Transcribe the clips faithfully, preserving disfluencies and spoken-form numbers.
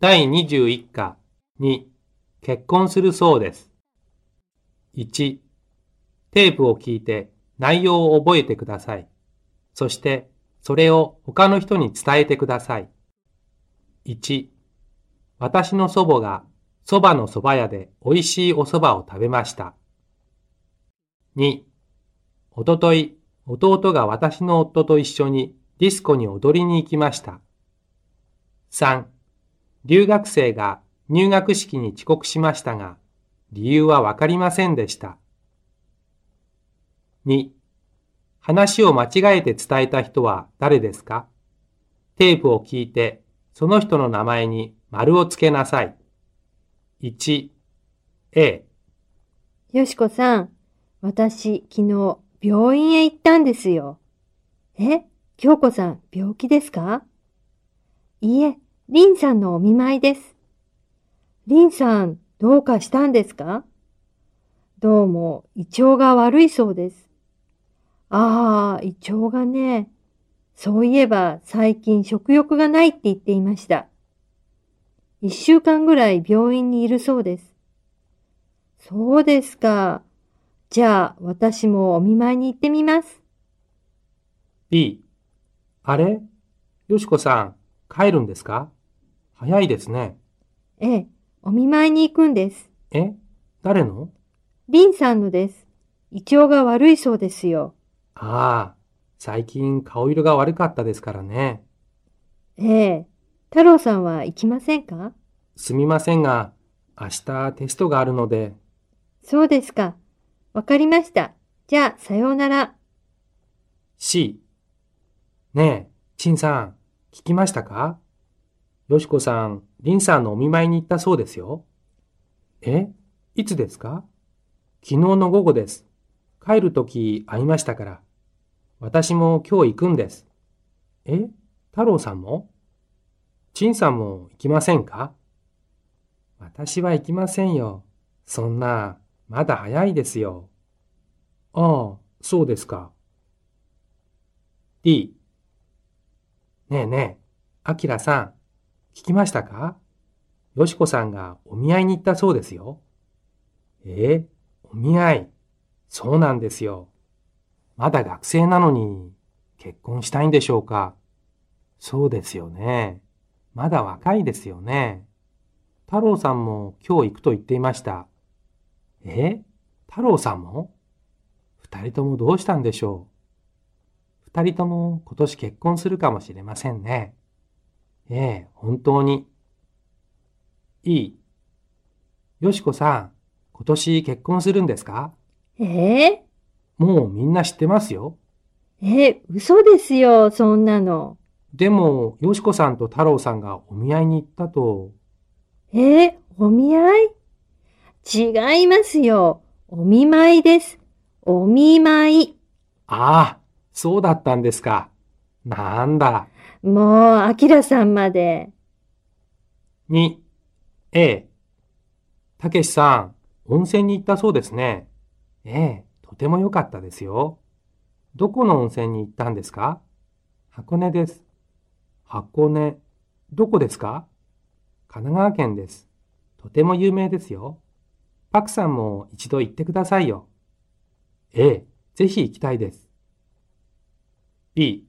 だいにじゅういっかに結婚するそうです。いち、テープを聞いて内容を覚えてください。そしてそれを他の人に伝えてください。いち、私の祖母がそばの蕎麦屋で美味しいお蕎麦を食べました。に、おととい、弟が私の夫と一緒にディスコに踊りに行きました。さん、留学生が入学式に遅刻しましたが、理由はわかりませんでした。に、話を間違えて伝えた人は誰ですか？テープを聞いて、その人の名前に丸をつけなさい。いち、A。 よしこさん、私、昨日、病院へ行ったんですよ。え、京子さん、病気ですか？いいえ、リンさんのお見舞いです。リンさん、どうかしたんですか？どうも、胃腸が悪いそうです。ああ、胃腸がね。そういえば、最近食欲がないって言っていました。一週間ぐらい病院にいるそうです。そうですか。じゃあ、私もお見舞いに行ってみます。 B。あれ？よしこさん、帰るんですか？早いですね。 ええ、お見舞いに行くんです。 え？誰の？ リンさんのです。胃腸が悪いそうですよ。 ああ、最近顔色が悪かったですからね。 ええ、太郎さんは行きませんか？ すみませんが、明日テストがあるので。 そうですか。わかりました。じゃあ、さようなら。 C。ねえ、陳さん、聞きましたか？よしこさん、りんさんのお見舞いに行ったそうですよ。え？いつですか？昨日の午後です。帰るとき会いましたから。私も今日行くんです。え？太郎さんも？陳さんも行きませんか？私は行きませんよ。そんな、まだ早いですよ。ああ、そうですか。D。ねえねえ、あきらさん、聞きましたか？よしこさんがお見合いに行ったそうですよ。ええ、お見合い。そうなんですよ。まだ学生なのに結婚したいんでしょうか？そうですよね。まだ若いですよね。太郎さんも今日行くと言っていました。え？太郎さんも？二人ともどうしたんでしょう？二人とも今年結婚するかもしれませんね。ええ、本当に。いい。よしこさん、今年結婚するんですか？ ええもうみんな知ってますよ。 ええ、嘘ですよ、そんなの。 でも、よしこさんと太郎さんがお見合いに行ったと。 ええ、お見合い？違いますよ。お見舞いです。お見舞い。 ああ、そうだったんですか。なんだ。 もう、あきらさんまで。 に、A。たけしさん、温泉に行ったそうですね。ええ、とても良かったですよ。どこの温泉に行ったんですか？箱根です。箱根、どこですか？神奈川県です。とても有名ですよ。パクさんも一度行ってくださいよ。ええ、ぜひ行きたいです。B。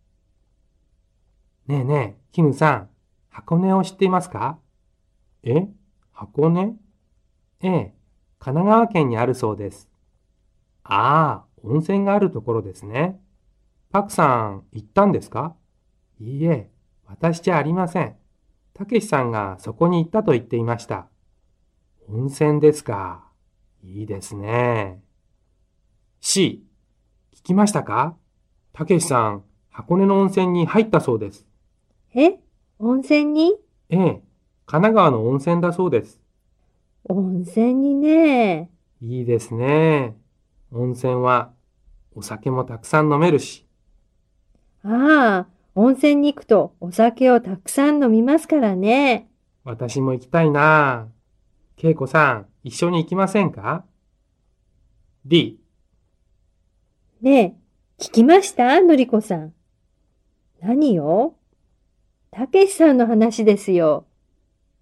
ねえねえ、キムさん、箱根を知っていますか？え？箱根？ええ、神奈川県にあるそうです。ああ、温泉があるところですね。パクさん、行ったんですか？いいえ、私じゃありません。たけしさんがそこに行ったと言っていました。温泉ですか。いいですね。C、聞きましたか？たけしさん、箱根の温泉に入ったそうです。 え？温泉に？ ええ、神奈川の温泉だそうです。 温泉にね。 いいですね。温泉はお酒もたくさん飲めるし。 ああ、温泉に行くとお酒をたくさん飲みますからね。 私も行きたいな。けいこさん、一緒に行きませんか？ D。 ねえ、聞きましたのりこさん。何よ？たけしさんの話ですよ。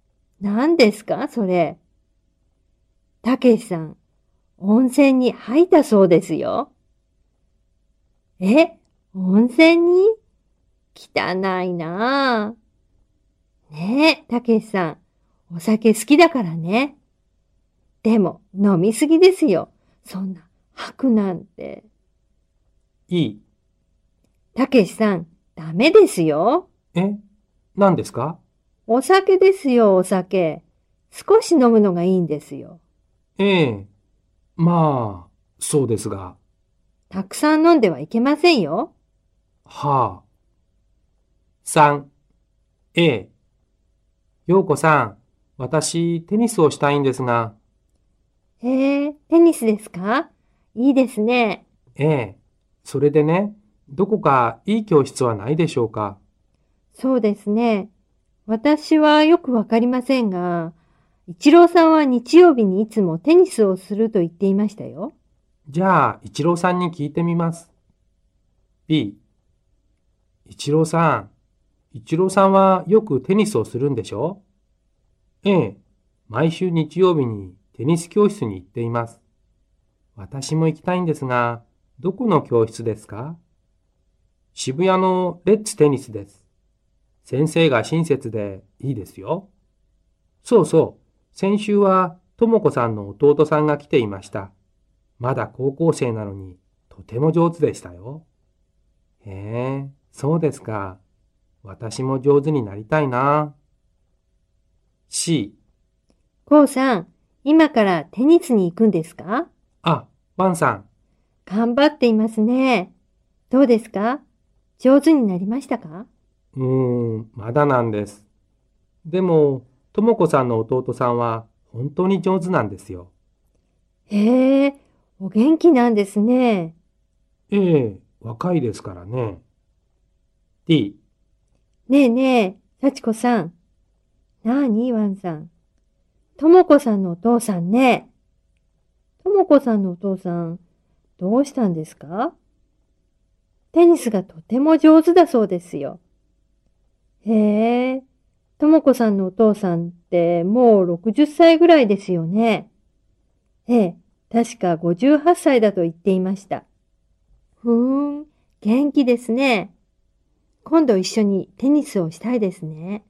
何ですか、それ。たけしさん、温泉に入ったそうですよ。え、温泉に？汚いなぁ。ねえ、たけしさん、お酒好きだからね。でも、飲みすぎですよ。そんな、吐くなんて。 いい。 たけしさん、ダメですよ。 え、何ですか？ お酒ですよ、お酒。少し飲むのがいいんですよ。 ええ、まあ、そうですが。 たくさん飲んではいけませんよ。 はあ。さん、A。ようこさん、私、テニスをしたいんですが。 へえ、テニスですか？いいですね。 ええ、それでね、どこかいい教室はないでしょうか？ そうですね。私はよくわかりませんが、一郎さんは日曜日にいつもテニスをすると言っていましたよ。 じゃあ、一郎さんに聞いてみます。B。一郎さん、一郎さんはよくテニスをするんでしょ？ええ、毎週日曜日にテニス教室に行っています。私も行きたいんですが、どこの教室ですか？渋谷のレッツテニスです。先生が親切でいいですよ。そうそう、先週はともこさんの弟さんが来ていました。まだ高校生なのにとても上手でしたよ。へえ、そうですか。私も上手になりたいな。C。 こうさん、今からテニスに行くんですか？ あ、ワンさん。 頑張っていますね。どうですか？上手になりましたか？ うーん、まだなんです。でも、ともこさんの弟さんは本当に上手なんですよ。 へえ、お元気なんですね。 ええ、若いですからね。D。 ねえねえ、幸子さん。なあに、ワンさん。ともこさんのお父さんね。ともこさんのお父さん、どうしたんですか？テニスがとても上手だそうですよ。へえ、ともこさんのお父さんってもうろくじゅっさいぐらいですよね。ええ、確かごじゅうはっさいだと言っていました。ふーん、元気ですね。今度一緒にテニスをしたいですね。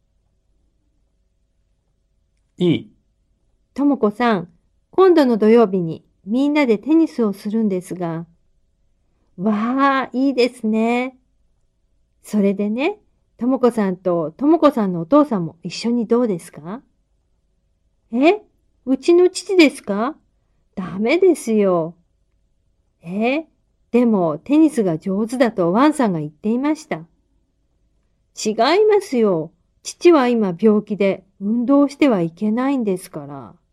E。 ともこさん、今度の土曜日にみんなでテニスをするんですが、わあ、いいですね。それでね、ともこさんとともこさんのお父さんも一緒にどうですか？え、うちの父ですか？ダメですよ。え、でもテニスが上手だとワンさんが言っていました。違いますよ。父は今病気で運動してはいけないんですから。